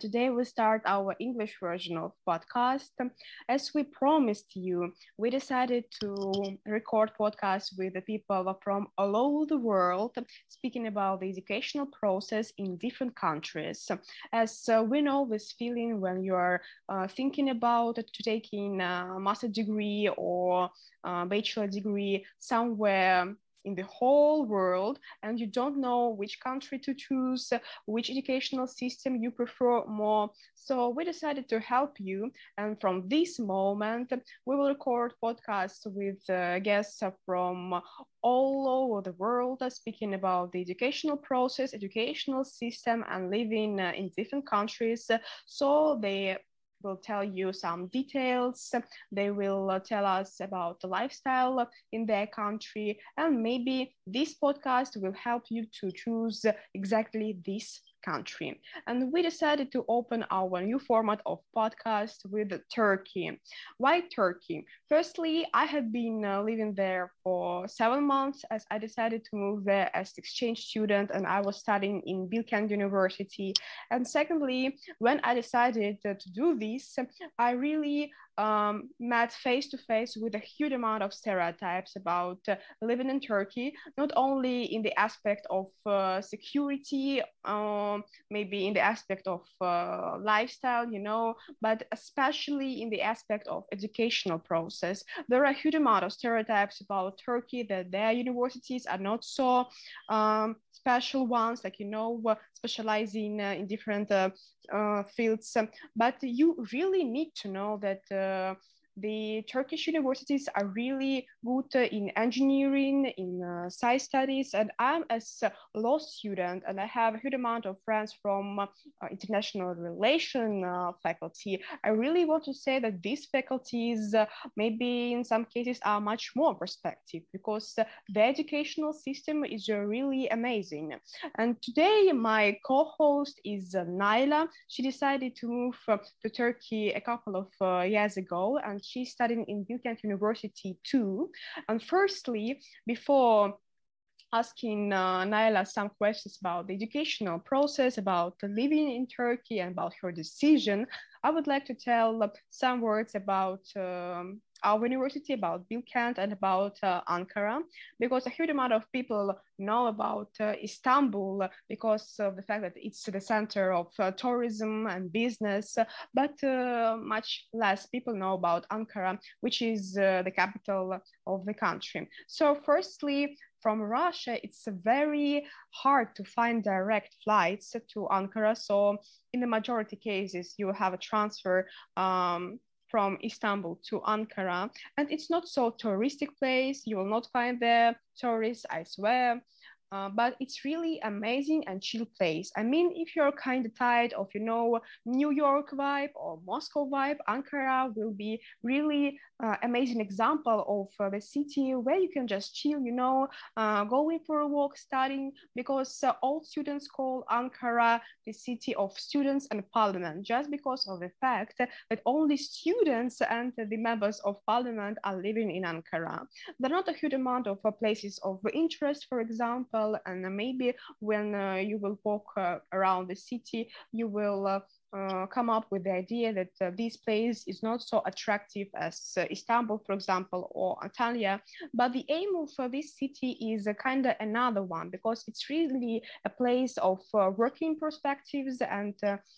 today we start our English version of podcast. As we promised you, we decided to record podcasts with the people from all over the world, speaking about the educational process in different countries. As we know this feeling when you are thinking about to taking a master degree or bachelor degree somewhere in the whole world and you don't know which country to choose, which educational system you prefer more. So we decided to help you. And from this moment, we will record podcasts with guests from all over the world, speaking about the educational process, educational system, and living in different countries. So they will tell you some details. They will tell us about the lifestyle in their country, and maybe this podcast will help you to choose exactly this country. And we decided to open our new format of podcast with Turkey. Why Turkey? Firstly, I have been living there for 7 months as I decided to move there as exchange student and I was studying in Bilkent University. And secondly, when I decided to do this, I really met face to face with a huge amount of stereotypes about living in Turkey, not only in the aspect of security, maybe in the aspect of lifestyle, but especially in the aspect of educational process. There are a huge amount of stereotypes about Turkey that their universities are not so special ones, like, specializing in different fields. But you really need to know that the Turkish universities are really good in engineering, in science studies, and I'm as a law student, and I have a huge amount of friends from international relation faculty. I really want to say that these faculties, maybe in some cases, are much more perspective because the educational system is really amazing. And today, my co-host is Naila. She decided to move to Turkey a couple of years ago, and she's studying in Bilkent University too. And firstly, before asking Naila some questions about the educational process, about living in Turkey, and about her decision, I would like to tell some words about our university, about Bilkent, and about Ankara, because a huge amount of people know about Istanbul because of the fact that it's the center of tourism and business, but much less people know about Ankara, which is the capital of the country. So firstly, from Russia, it's very hard to find direct flights to Ankara. So in the majority cases, you have a transfer from Istanbul to Ankara. And it's not so touristic place. You will not find there tourists, I swear. But it's really amazing and chill place. I mean, if you're kind of tired of, New York vibe or Moscow vibe, Ankara will be really amazing example of the city where you can just chill, going for a walk, studying, because all students call Ankara the city of students and parliament, just because of the fact that only students and the members of parliament are living in Ankara. There are not a huge amount of places of interest, for example, and maybe when you will walk around the city, you will come up with the idea that this place is not so attractive as Istanbul, for example, or Antalya. But the aim of this city is kind of another one because it's really a place of working perspectives and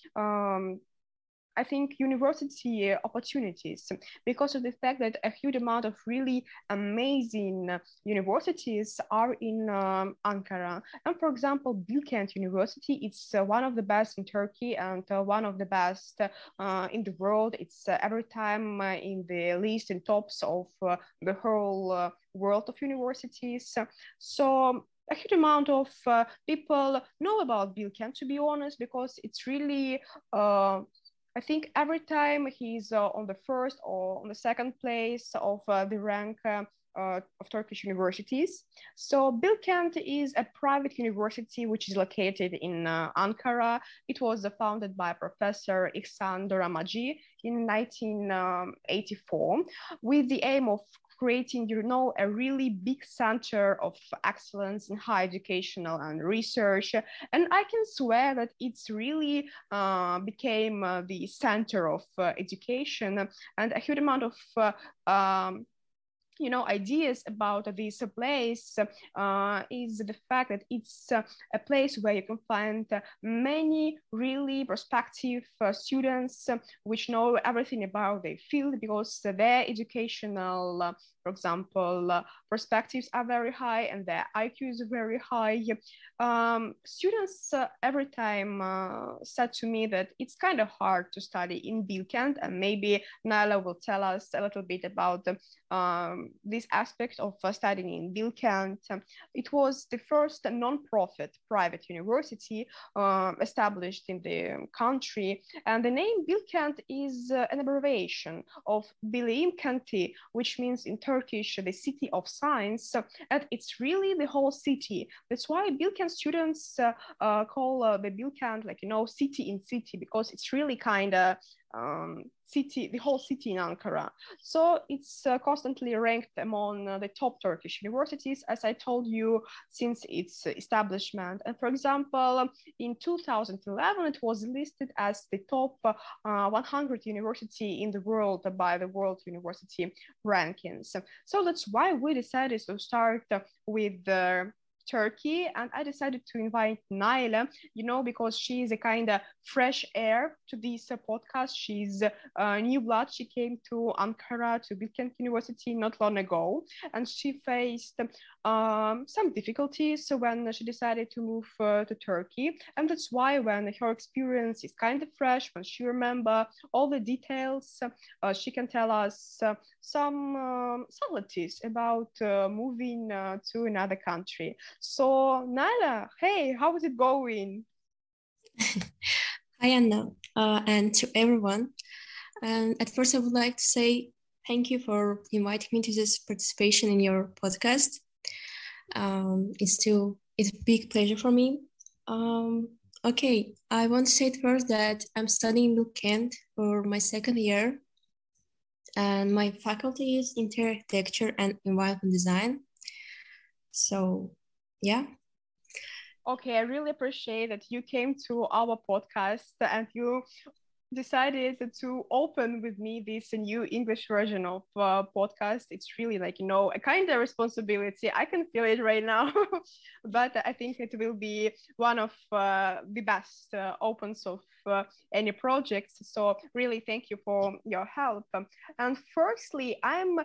I think university opportunities because of the fact that a huge amount of really amazing universities are in Ankara. And for example, Bilkent University, it's one of the best in Turkey and one of the best in the world. It's every time in the list and tops of the whole world of universities. So a huge amount of people know about Bilkent, to be honest, because it's really I think every time he's on the first or on the second place of the rank of Turkish universities. So Bilkent is a private university which is located in Ankara. It was founded by Professor Ihsan Doramaji in 1984 with the aim of creating, a really big center of excellence in higher educational and research. And I can swear that it's really became the center of education, and a huge amount of ideas about this place is the fact that it's a place where you can find many really prospective students which know everything about their field, because their educational, for example, perspectives are very high and their IQ is very high. Students every time said to me that it's kind of hard to study in Bilkent, and maybe Naila will tell us a little bit about this aspect of studying in Bilkent. It was the first non-profit private university established in the country, and the name Bilkent is an abbreviation of Bilim Kenti, which means in Turkish the city of science, and it's really the whole city. That's why Bilkent students call the Bilkent city in city, because it's really kind of city, the whole city in Ankara. So it's constantly ranked among the top Turkish universities, as I told you, since its establishment. And for example, in 2011, it was listed as the top 100 university in the world by the World University Rankings. So that's why we decided to start with Turkey, and I decided to invite Naila, because she is a kind of fresh air to this podcast. She's new blood. She came to Ankara, to Bilkent University not long ago, and she faced some difficulties when she decided to move to Turkey. And that's why when her experience is kind of fresh, when she remember all the details, she can tell us some subtleties about moving to another country. So Naila, hey, how is it going? Hi Anna, and to everyone. And at first I would like to say thank you for inviting me to this participation in your podcast. It's a big pleasure for me. Okay, I want to say first that I'm studying Bilkent for my second year, and my faculty is interior architecture and environment design. So, yeah. Okay, I really appreciate that you came to our podcast and you decided to open with me this new English version of podcast. It's really a kind of responsibility. I can feel it right now, but I think it will be one of the best opens of any projects. So really thank you for your help. And firstly, I'm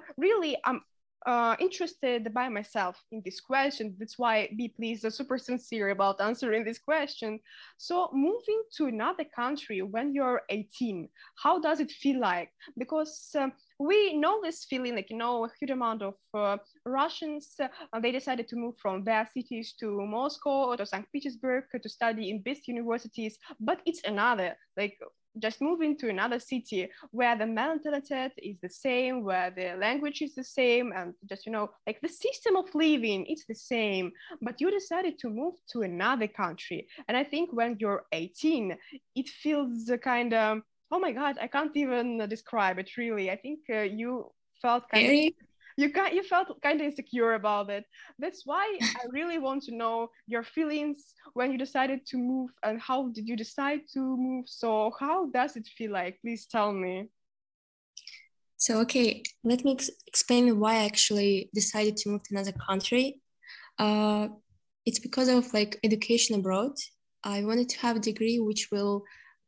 interested by myself in this question. That's why be please super sincere about answering this question. So moving to another country when you're 18, how does it feel like? Because we know this feeling, a huge amount of Russians, they decided to move from their cities to Moscow or to St. Petersburg to study in best universities, but it's another, just moving to another city where the mentality is the same, where the language is the same, and just, the system of living, it's the same, but you decided to move to another country. And I think when you're 18, it feels kind of, oh my God, I can't even describe it really. I think you felt kind of you felt kind of insecure about it. That's why I really want to know your feelings when you decided to move, and how did you decide to move? So how does it feel like? Please tell me. So, okay, let me explain why I actually decided to move to another country. It's because of education abroad. I wanted to have a degree which will,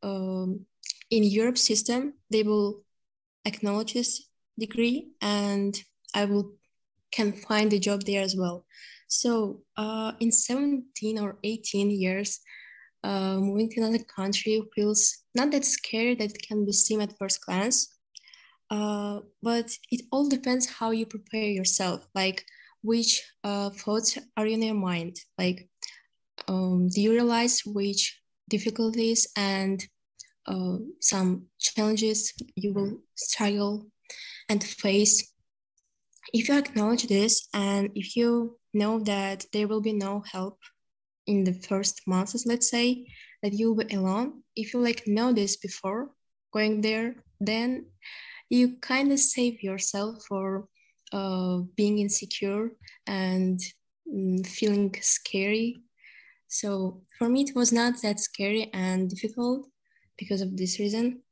in Europe system, they will acknowledge this degree, and I can find a job there as well. So in 17 or 18 years, moving to another country feels not that scary that it can be seen at first glance, but it all depends how you prepare yourself, which thoughts are in your mind, do you realize which difficulties and some challenges you will struggle and face. If you acknowledge this, and if you know that there will be no help in the first months, let's say, that you'll be alone, if you know this before going there, then you kind of save yourself for being insecure and feeling scary. So for me, it was not that scary and difficult because of this reason.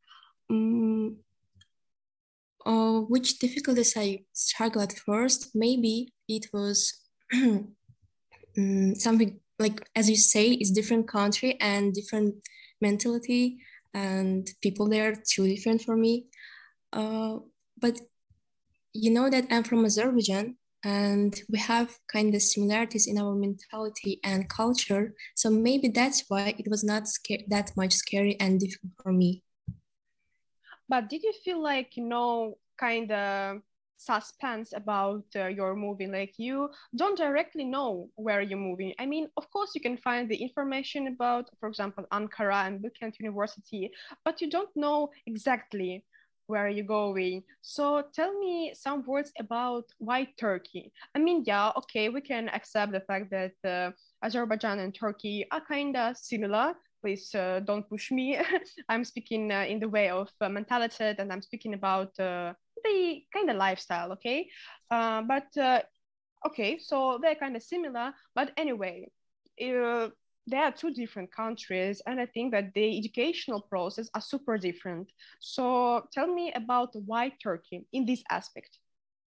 Which difficulties I struggled at first? Maybe it was something like, as you say, it's different country and different mentality, and people there are too different for me. But you know that I'm from Azerbaijan, and we have kind of similarities in our mentality and culture. So maybe that's why it was not that much scary and difficult for me. But did you feel like, kind of suspense about your moving? Like you don't directly know where you're moving. I mean, of course, you can find the information about, for example, Ankara and Bilkent University, but you don't know exactly where you're going. So tell me some words about why Turkey. I mean, yeah, okay, we can accept the fact that Azerbaijan and Turkey are kind of similar. Please don't push me. I'm speaking in the way of mentality, and I'm speaking about the kind of lifestyle, okay? But okay, so they're kind of similar, but anyway, they are two different countries, and I think that the educational process are super different. So tell me about why Turkey in this aspect.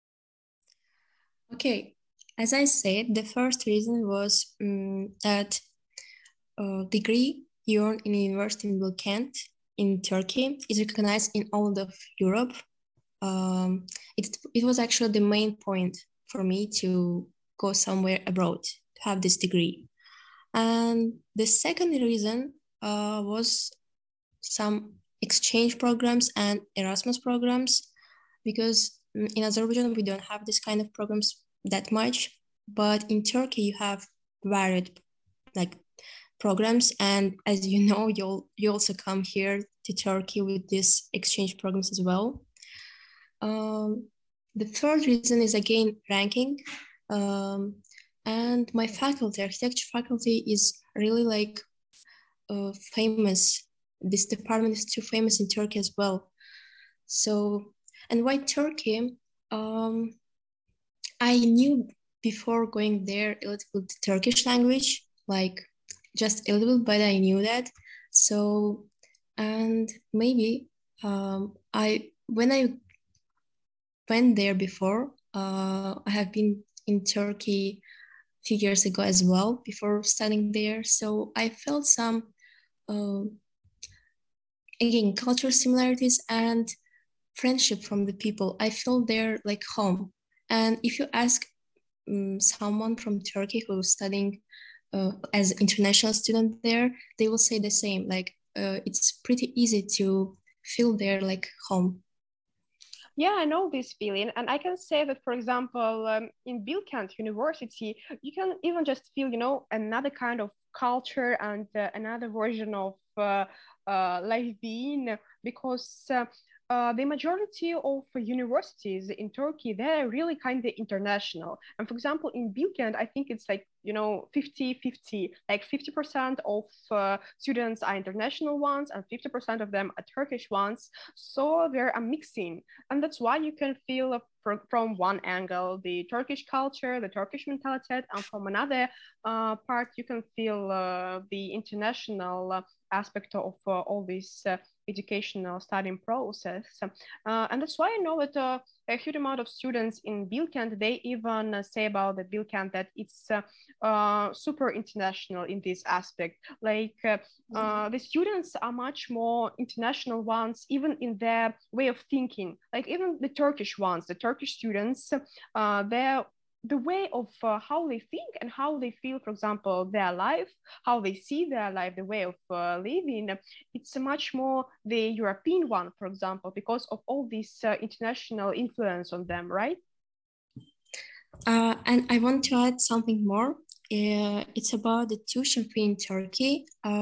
Okay, as I said, the first reason was that degree you earn in university in Bilkent in Turkey is recognized in all of Europe. It was actually the main point for me to go somewhere abroad to have this degree. And the second reason was some exchange programs and Erasmus programs, because in Azerbaijan we don't have this kind of programs that much, but in Turkey you have varied like programs, and as you know, you also come here to Turkey with these exchange programs as well. The third reason is again ranking, and my faculty, architecture faculty, is really like famous. This department is too famous in Turkey as well. So, and why Turkey? I knew before going there a little bit Turkish language, like just a little bit, but I knew that. So, and maybe when I went there before, I have been in Turkey a few years ago as well before studying there. So I felt some again cultural similarities and friendship from the people. I feel there like home. And if you ask someone from Turkey who's studying as an international student there, they will say the same. Like it's pretty easy to feel there like home. Yeah, I know this feeling. And I can say that, for example, in Bilkent University, you can even just feel, another kind of culture and another version of life being, because the majority of universities in Turkey, they're really kind of international. And for example, in Bilkent, I think it's like, 50-50, like 50% of students are international ones and 50% of them are Turkish ones. So they're a mixing. And that's why you can feel from one angle the Turkish culture, the Turkish mentality, and from another part you can feel the international aspect of all this educational studying process. And that's why I know that a huge amount of students in Bilkent, they even say about the Bilkent that it's super international in this aspect. Like the students are much more international ones, even in their way of thinking. Like even the Turkish ones, the Turkish students, they're the way of how they think and how they feel, for example, their life, how they see their life, the way of living, it's much more the European one, for example, because of all this international influence on them, right? And I want to add something more. It's about the tuition fee in Turkey.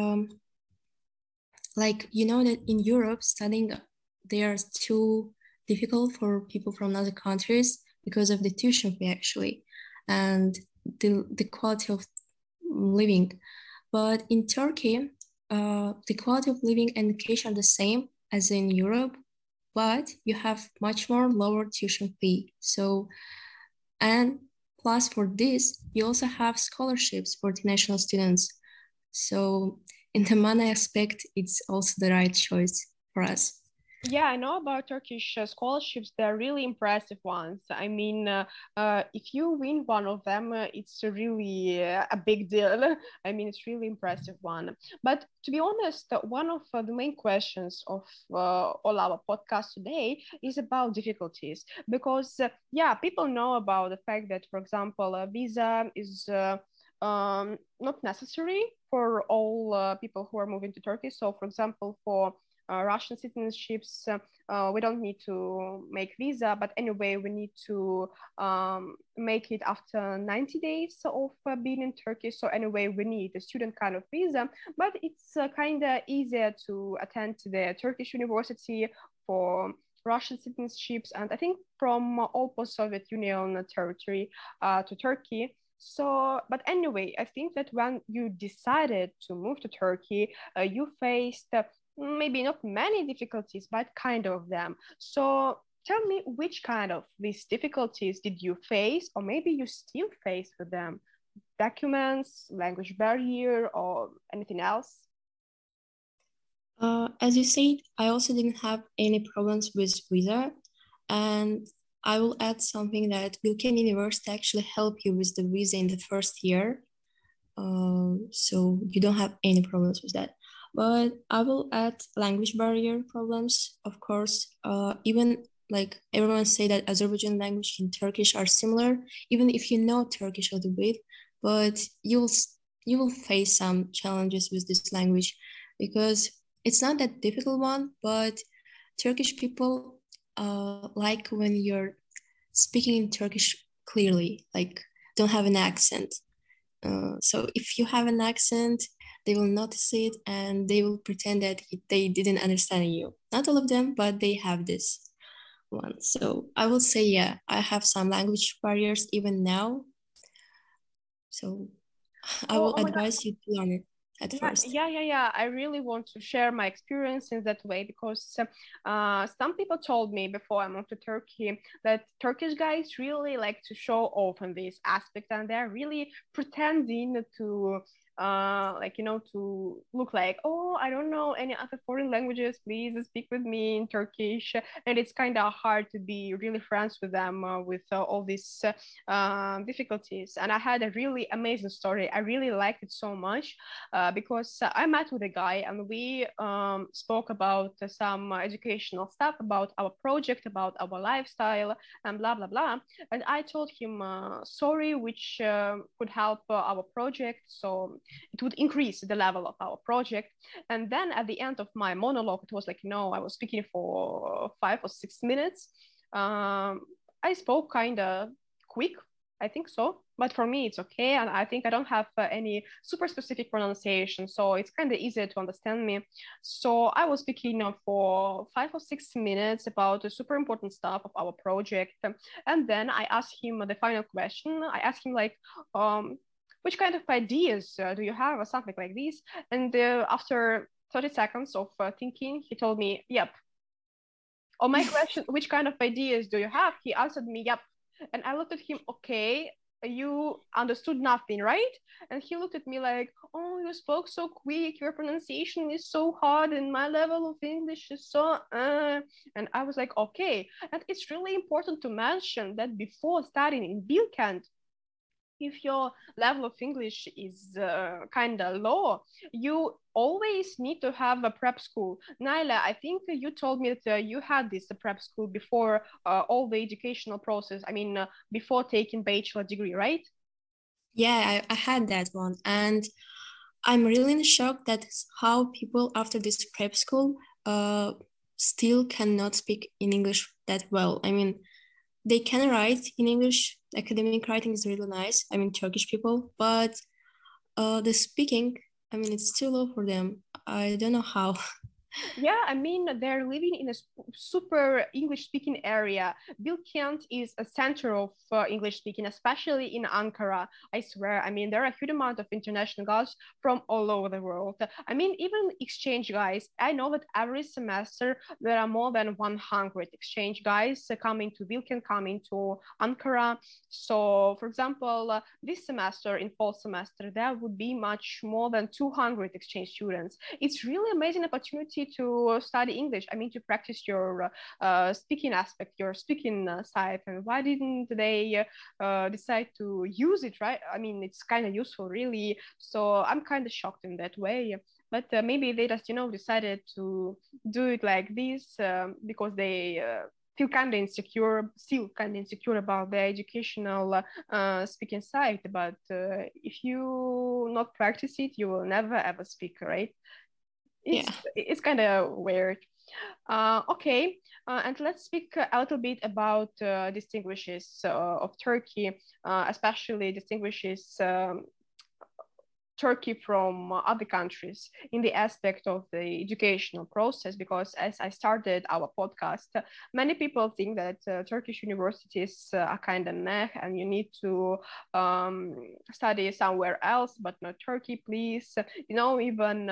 Like, you know that in Europe, studying there is too difficult for people from other countries because of the tuition fee, actually, and the quality of living. But in Turkey, the quality of living and education are the same as in Europe. but you have much more lower tuition fee. So, and plus for this, you also have scholarships for international students. So in the money aspect, it's also the right choice for us. Yeah, I know about Turkish scholarships. They're really impressive ones. I mean, if you win one of them, it's really a big deal. I mean, it's really impressive one. But to be honest, one of the main questions of all our podcasts today is about difficulties. Because, yeah, people know about the fact that, for example, a visa is not necessary for all people who are moving to Turkey. So, for example, for Russian citizenships, we don't need to make visa, but anyway, we need to make it after 90 days of being in Turkey. So anyway, we need a student kind of visa, but it's kind of easier to attend to the Turkish university for Russian citizenships, and I think from all post-Soviet Union territory to Turkey. So, but anyway, I think that when you decided to move to Turkey, you faced maybe not many difficulties, but kind of them. So tell me, which kind of these difficulties did you face, or maybe you still face with them? Documents, language barrier, or anything else? As you said, I also didn't have any problems with visa, and I will add something that Bilkent University actually help you with the visa in the first year, so you don't have any problems with that. But I will add language barrier problems, of course. Even like everyone say that Azerbaijan language and Turkish are similar, even if you know Turkish a little bit, but you will face some challenges with this language because it's not that difficult one, but Turkish people like when you're speaking in Turkish clearly, like don't have an accent. So if you have an accent, they will notice it and they will pretend that they didn't understand you. Not all of them, but they have this one. So I will say, yeah, I have some language barriers even now. So I will Oh my God. advise you to learn it at first. Yeah. I really want to share my experience in that way because some people told me before I moved to Turkey that Turkish guys really like to show off in this aspect and they're really pretending to like to look like, oh, I don't know any other foreign languages, please speak with me in Turkish. And it's kind of hard to be really friends with them with all these difficulties. And I had a really amazing story. I really liked it so much because I met with a guy and we spoke about some educational stuff, about our project, about our lifestyle, and blah, blah, blah. And I told him a story which could help our project. So it would increase the level of our project. And then at the end of my monologue, it was like, I was speaking for 5 or 6 minutes. I spoke kind of quick, I think so. But for me, it's okay. And I think I don't have any super specific pronunciation. So it's kind of easier to understand me. So I was speaking for 5 or 6 minutes about the super important stuff of our project. And then I asked him the final question. I asked him, like, which kind of ideas do you have, or something like this? And after 30 seconds of thinking, he told me, yep. On my question, which kind of ideas do you have? He answered me, yep. And I looked at him, okay, you understood nothing, right? And he looked at me like, oh, you spoke so quick, your pronunciation is so hard, and my level of English is so. And I was like, okay. And it's really important to mention that before studying in Bilkent, if your level of English is kind of low, you always need to have a prep school. Naila, I think you told me that you had this prep school before all the educational process. I mean, before taking bachelor degree, right? Yeah, I had that one. And I'm really in shock that how people after this prep school still cannot speak in English that well. I mean, they can write in English. Academic writing is really nice. I mean, Turkish people, but the speaking, I mean, it's too low for them. I don't know how. Yeah, I mean, they're living in a super English-speaking area. Bilkent is a center of English-speaking, especially in Ankara. I swear, I mean, there are a huge amount of international guys from all over the world. I mean, even exchange guys. I know that every semester there are more than 100 exchange guys coming to Bilkent, coming to Ankara. So, for example, this semester, in fall semester, there would be much more than 200 exchange students. It's really amazing opportunity to study English. I mean, to practice your speaking aspect, your speaking side. And why didn't they decide to use it, right? I mean, it's kind of useful, really. So I'm kind of shocked in that way. But maybe they just, decided to do it like this because they feel kind of insecure, still kind of insecure about the educational speaking side. But if you not practice it, you will never ever speak, right? Yeah. It's kind of weird. Okay, and let's speak a little bit about distinguishes of Turkey, especially distinguishes Turkey from other countries in the aspect of the educational process, because as I started our podcast, many people think that Turkish universities are kind of meh and you need to study somewhere else, but not Turkey, please. Even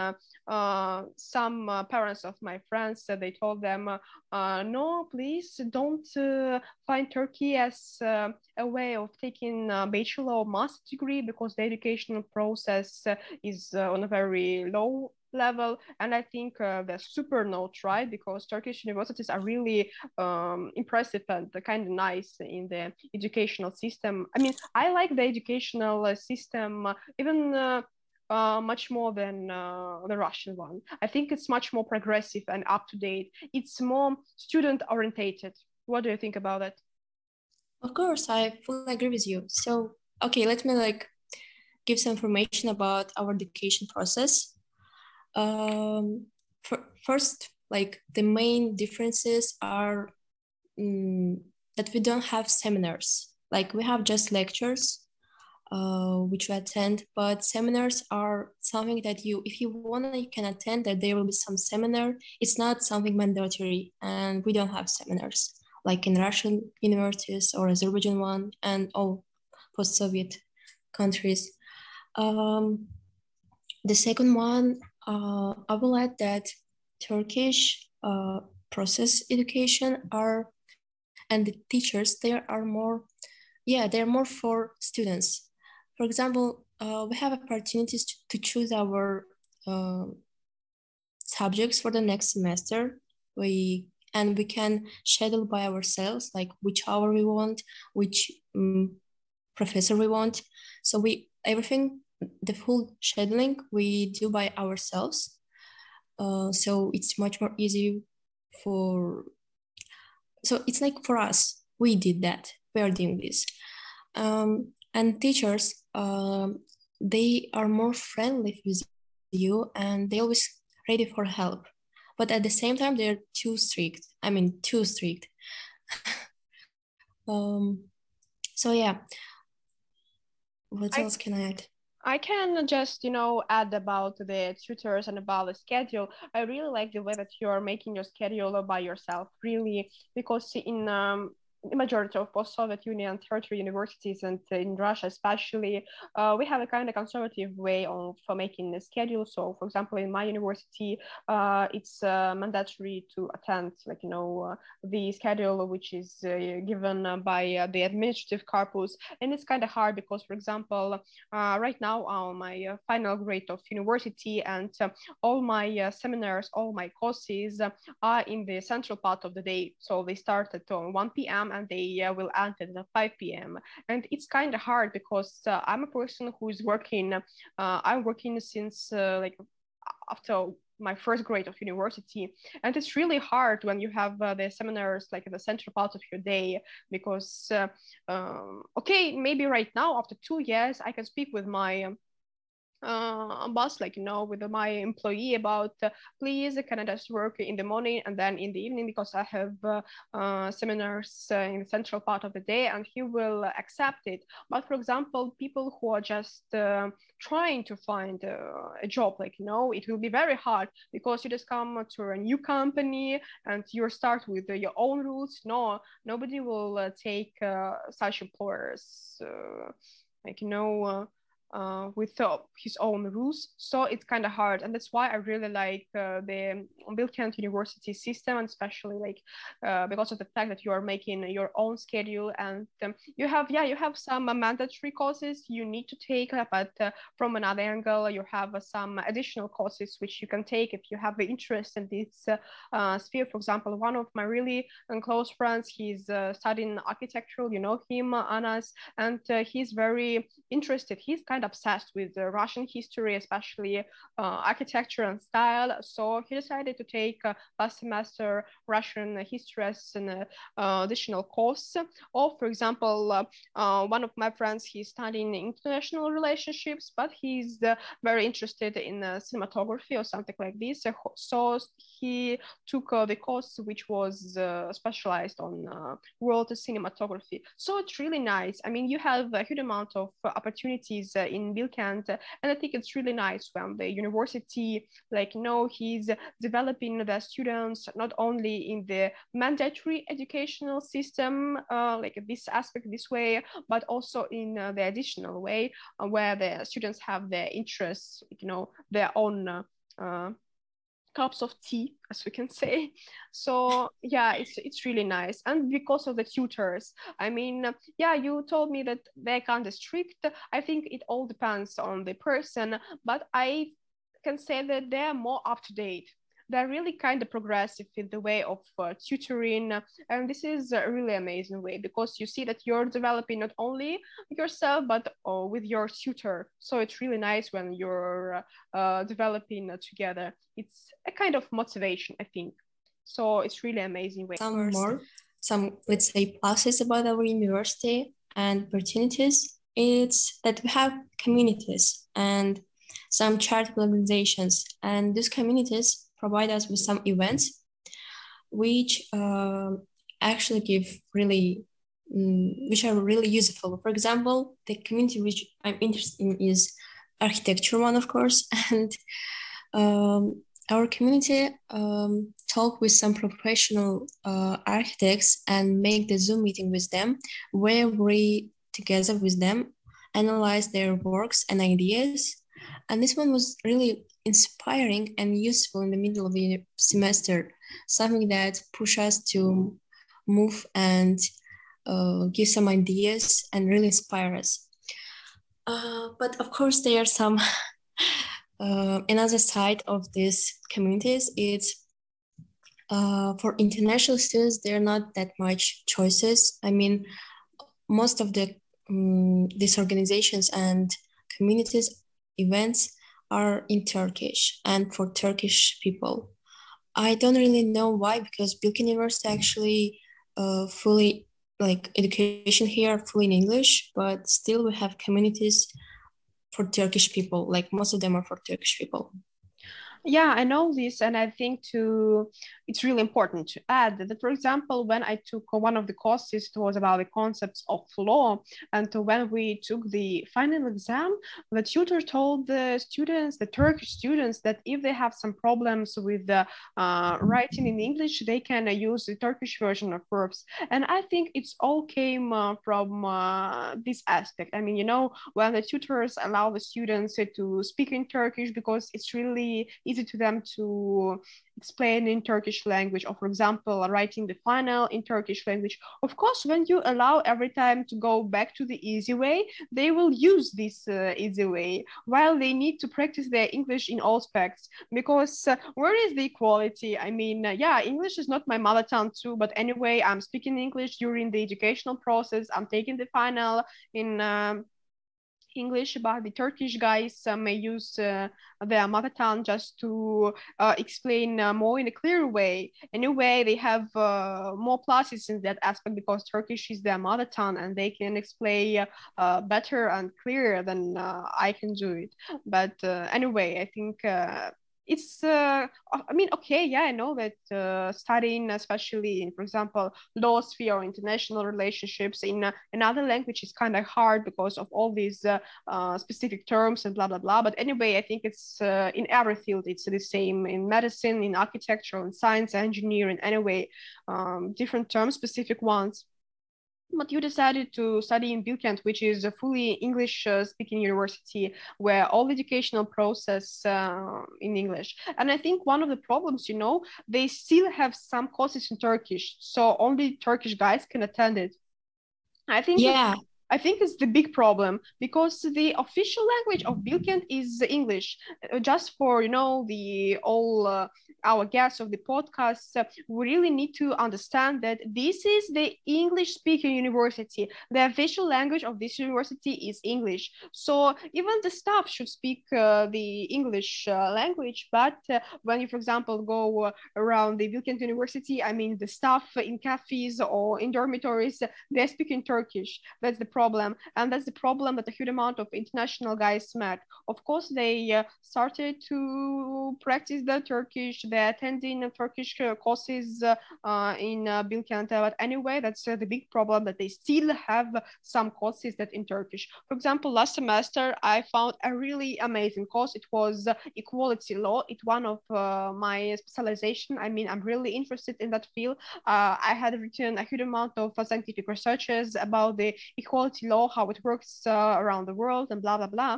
some parents of my friends, they told them, no, please don't find Turkey as a way of taking a bachelor or master degree, because the educational process is on a very low level. And I think they're super not right, because Turkish universities are really impressive and kind of nice in the educational system. I mean, I like the educational system even much more than the Russian one. I think it's much more progressive and up to date. It's more student orientated. What do you think about it? Of course, I fully agree with you. So, okay, let me give some information about our education process. First, the main differences are that we don't have seminars. Like we have just lectures, which we attend, but seminars are something that if you want, you can attend. That there will be some seminar. It's not something mandatory, and we don't have seminars like in Russian universities or Azerbaijan one and all post-Soviet countries. The second one, I will add that Turkish process education and the teachers, they're more for students. For example, we have opportunities to choose our subjects for the next semester. We can schedule by ourselves, like which hour we want, which professor we want. So the full scheduling we do by ourselves. So it's much more easy so it's like for us, we did that. We are doing this. And teachers, they are more friendly with you and they always ready for help. But at the same time, they're too strict. I mean, too strict. So yeah, what else can I add? I can just, add about the tutors and about the schedule. I really like the way that you're making your schedule by yourself, really, because in the majority of post-Soviet Union tertiary universities and in Russia especially, we have a kind of conservative way of making the schedule. So, for example, in my university, it's mandatory to attend, the schedule which is given by the administrative corpus, and it's kind of hard because, for example, right now on my final grade of university, and all my seminars, all my courses are in the central part of the day. So they start at 1 p.m. and they will end at 5 p.m. And it's kind of hard because I'm a person who is working. I'm working since after my first grade of university, and it's really hard when you have the seminars like in the central part of your day, because okay, maybe right now after 2 years I can speak with my boss, like, with my employee about, please, can I just work in the morning and then in the evening, because I have seminars in the central part of the day, and he will accept it. But for example, people who are just trying to find a job, like, it will be very hard, because you just come to a new company and you start with your own rules. No, nobody will take such employers, like, with his own rules. So it's kind of hard, and that's why I really like the Bilkent University system, and especially like because of the fact that you are making your own schedule, and you have some mandatory courses you need to take, but from another angle, you have some additional courses which you can take if you have the interest in this sphere. For example, one of my really close friends, he's studying architectural, you know him, Anas, and he's very interested. He's kind of obsessed with Russian history, especially architecture and style. So he decided to take last semester Russian history as an additional course. Or, for example, one of my friends, he's studying international relationships, but he's very interested in cinematography or something like this. So he took the course which was specialized on world cinematography. So it's really nice. I mean, you have a huge amount of opportunities in Bilkent, and I think it's really nice when the university, like, he's developing the students not only in the mandatory educational system, like this aspect, this way, but also in the additional way, where the students have their interests, their own cups of tea, as we can say. So yeah, it's really nice. And because of the tutors, I mean, yeah, you told me that they're kind of strict. I think it all depends on the person, but I can say that they're more up to date. They're really kind of progressive in the way of tutoring, and this is a really amazing way, because you see that you're developing not only yourself but with your tutor. So it's really nice when you're developing together. It's a kind of motivation, I think. So it's really amazing way. Some, let's say, pluses about our university and opportunities. It's that we have communities and some charitable organizations, and these communities provide us with some events which actually give really which are really useful. For example, the community which I'm interested in is architecture one, of course, and our community talk with some professional architects and make the Zoom meeting with them, where we together with them analyze their works and ideas. And this one was really inspiring and useful in the middle of the semester, something that pushed us to move and give some ideas and really inspire us. But of course, there are some another side of these communities. It's for international students, there are not that much choices. I mean, most of the these organizations and communities events are in Turkish and for Turkish people. I don't really know why, because Bilkent University actually fully, like, education here fully in English, but still we have communities for Turkish people. Like, most of them are for Turkish people. Yeah, I know this, and I think it's really important to add that, for example, when I took one of the courses, it was about the concepts of law, and when we took the final exam, the tutor told the students, the Turkish students, that if they have some problems with the writing in English, they can use the Turkish version of verbs. And I think it's all came from this aspect. I mean, when the tutors allow the students to speak in Turkish, because it's really easy to them to explain in Turkish language, or, for example, writing the final in Turkish language. Of course, when you allow every time to go back to the easy way, they will use this easy way, while they need to practice their English in all aspects, because where is the equality? I mean, yeah, English is not my mother tongue too, but anyway, I'm speaking English during the educational process. I'm taking the final English, but the Turkish guys may use their mother tongue just to explain more in a clear way. In a way, they have more pluses in that aspect because Turkish is their mother tongue and they can explain better and clearer than I can do it. But anyway, I think it's I mean, okay, yeah, I know that studying, especially in, for example, law sphere or international relationships in another language is kind of hard because of all these specific terms and blah blah blah. But anyway, I think it's in every field it's the same, in medicine, in architecture, in science, engineering. Anyway, different terms, specific ones. But you decided to study in Bilkent, which is a fully English speaking university where all educational process in English. And I think one of the problems, you know, they still have some courses in Turkish, so only Turkish guys can attend it. I think Yeah. I think it's the big problem because the official language of Bilkent is English. Just for you know the all our guests of the podcast, we really need to understand that this is the English-speaking university. The official language of this university is English. So even the staff should speak the English language. But when you, for example, go around the Bilkent University, I mean the staff in cafes or in dormitories, they're speaking Turkish. That's the problem, and that's the problem that a huge amount of international guys met. Of course, they started to practice the Turkish. They're attending Turkish courses in Bilkent. But anyway, that's the big problem that they still have some courses that in Turkish. For example, last semester I found a really amazing course. It was equality law. It's one of my specialization. I mean, I'm really interested in that field. I had written a huge amount of scientific researches about the equality law, how it works around the world, and blah blah blah.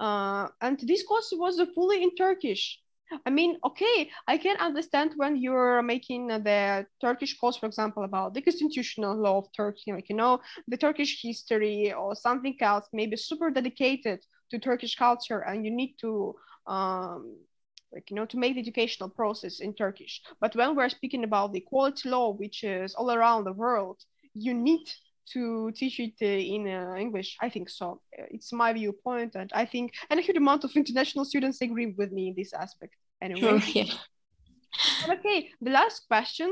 And this course was fully in Turkish. I mean, okay, I can understand when you're making the Turkish course, for example, about the constitutional law of Turkey, like, you know, the Turkish history or something else, maybe super dedicated to Turkish culture, and you need to like, you know, to make the educational process in Turkish. But when we're speaking about the equality law, which is all around the world, you need to teach it in English. I think so. It's my viewpoint, and I think, and a huge amount of international students agree with me in this aspect. Anyway, Yeah. okay, the last question,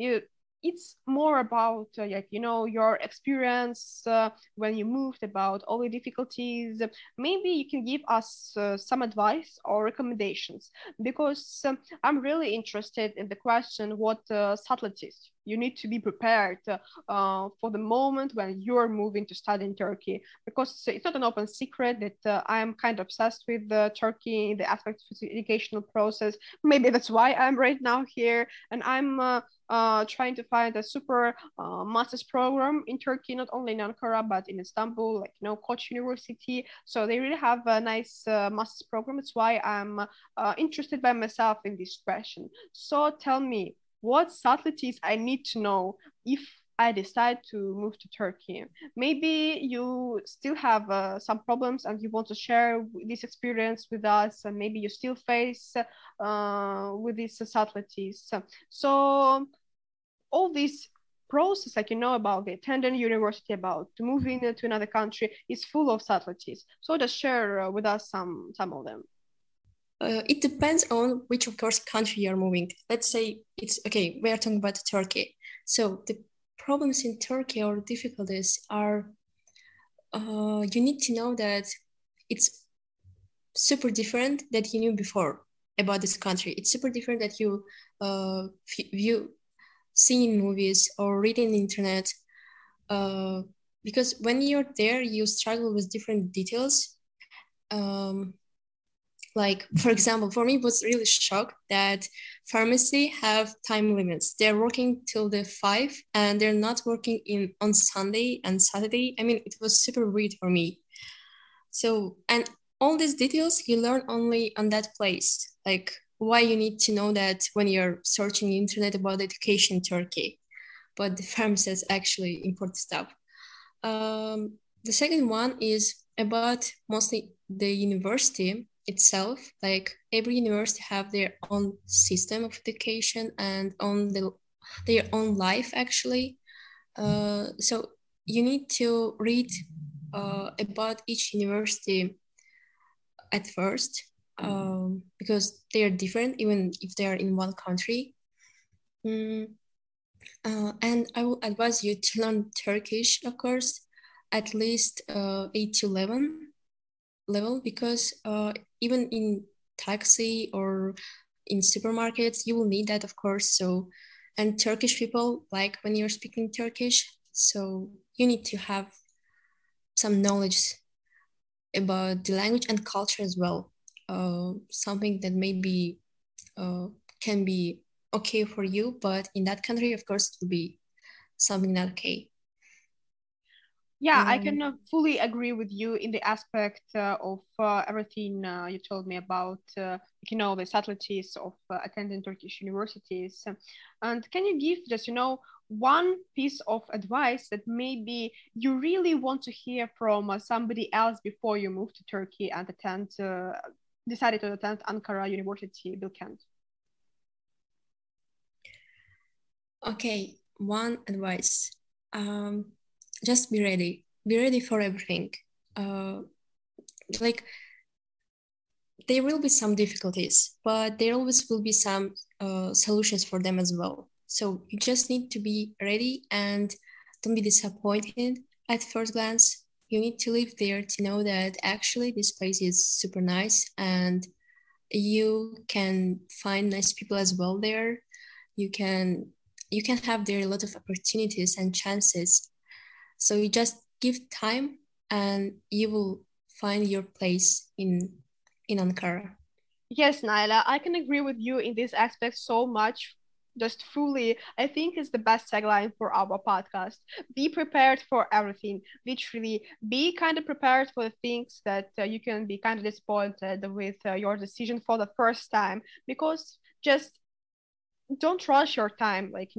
it's more about like, you know, your experience when you moved, about all the difficulties. Maybe you can give us some advice or recommendations, because I'm really interested in the question, what subtleties you need to be prepared for the moment when you're moving to study in Turkey, because it's not an open secret that I'm kind of obsessed with Turkey, the aspects of the educational process. Maybe that's why I'm right now here, and I'm trying to find a super master's program in Turkey, not only in Ankara but in Istanbul, like, you know, Koç University. So they really have a nice master's program. That's why I'm interested by myself in this question. So tell me, what subtleties I need to know if I decide to move to Turkey. Maybe you still have some problems and you want to share this experience with us, and maybe you still face with these subtleties. So all this process, like, you know, about the attending university, about moving to another country, is full of subtleties. So just share with us some of them. It depends on which, of course, country you're moving. Let's say it's okay, we are talking about Turkey. So the problems in Turkey or difficulties are, you need to know that it's super different that you knew before about this country. It's super different that you view, see in movies or read in the internet. Because when you're there, you struggle with different details. Like, for example, for me, it was really shocked that pharmacy have time limits. They're working till the 5 and they're not working on Sunday and Saturday. I mean, it was super weird for me. So, and all these details you learn only on that place. Like, why you need to know that when you're searching the internet about education in Turkey. But the pharmacist actually import stuff. The second one is about mostly the university itself. Like, every university have their own system of education and on their own life actually. So you need to read about each university at first, because they are different, even if they are in one country. And I will advise you to learn Turkish, of course, at least 8 to 11 level, because even in taxi or in supermarkets, you will need that, of course. So, and Turkish people like when you're speaking Turkish, so you need to have some knowledge about the language and culture as well. Something that maybe can be okay for you, but in that country, of course, it will be something not okay. Yeah, I can fully agree with you in the aspect of everything you told me about, the subtleties of attending Turkish universities. And can you give just, one piece of advice that maybe you really want to hear from somebody else before you move to Turkey and decided to attend Ankara University, Bilkent? Okay, one advice. Just be ready. Be ready for everything. Like there will be some difficulties, but there always will be some solutions for them as well. So you just need to be ready and don't be disappointed at first glance. You need to live there to know that actually this place is super nice and you can find nice people as well there. You can have there a lot of opportunities and chances. So you just give time and you will find your place in Ankara. Yes, Naila, I can agree with you in this aspect so much. Just fully, I think it's the best tagline for our podcast. Be prepared for everything. Literally, be kind of prepared for the things that you can be kind of disappointed with your decision for the first time, because just don't rush your time, like,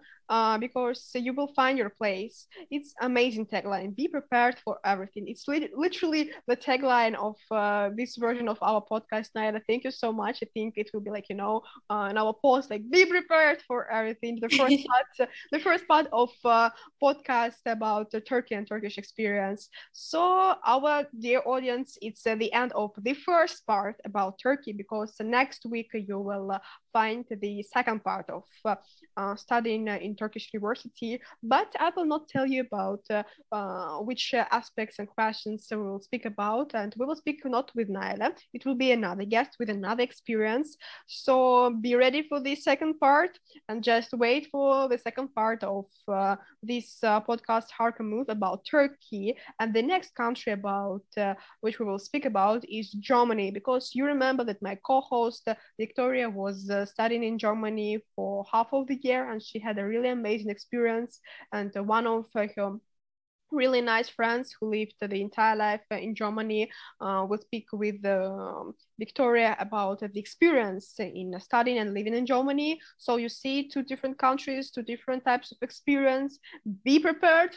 because you will find your place. It's amazing tagline. Be prepared for everything. It's literally the tagline of this version of our podcast. Naila, thank you so much. I think it will be like, in our post, like, be prepared for everything. The first part of podcast about Turkey and Turkish experience. So our dear audience, it's the end of the first part about Turkey, because next week you will find the second part of studying in Turkish university. But I will not tell you about which aspects and questions we will speak about. And we will speak not with Naila. It will be another guest with another experience. So be ready for the second part and just wait for the second part of this podcast, Harka Move, about Turkey. And the next country about which we will speak about is Germany, because you remember that my co-host Victoria was studying in Germany for half of the year, and she had a really amazing experience. And one of her really nice friends who lived the entire life in Germany will speak with Victoria about the experience in studying and living in Germany. So you see, two different countries, two different types of experience. Be prepared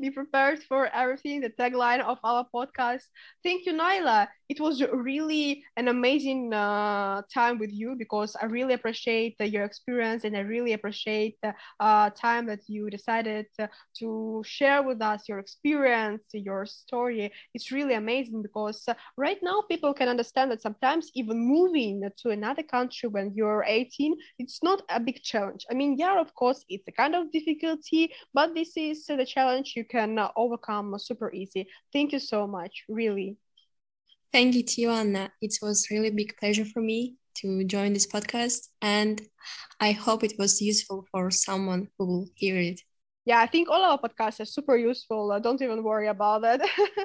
for everything. The tagline of our podcast. Thank you, Naila. It was really an amazing time with you, because I really appreciate your experience, and I really appreciate the time that you decided to share with us your experience, your story. It's really amazing, because right now people can understand that sometimes even moving to another country when you're 18, it's not a big challenge. I mean, yeah, of course, it's a kind of difficulty, but this is the challenge you can overcome super easy. Thank you so much, really. Thank you to you, Anna. It was really big pleasure for me to join this podcast, and I hope it was useful for someone who will hear it. Yeah, I think all our podcasts are super useful. Don't even worry about that.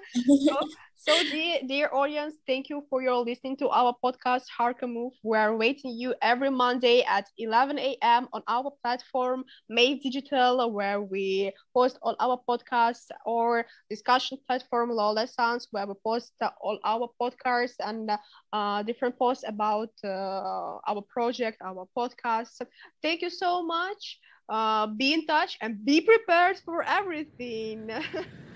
So, dear audience, thank you for your listening to our podcast, Harka Move. We're waiting you every Monday at 11 a.m. on our platform, Made Digital, where we post all our podcasts, or discussion platform, Lola Sounds, where we post all our podcasts and different posts about our project, our podcast. Thank you so much. Be in touch and be prepared for everything.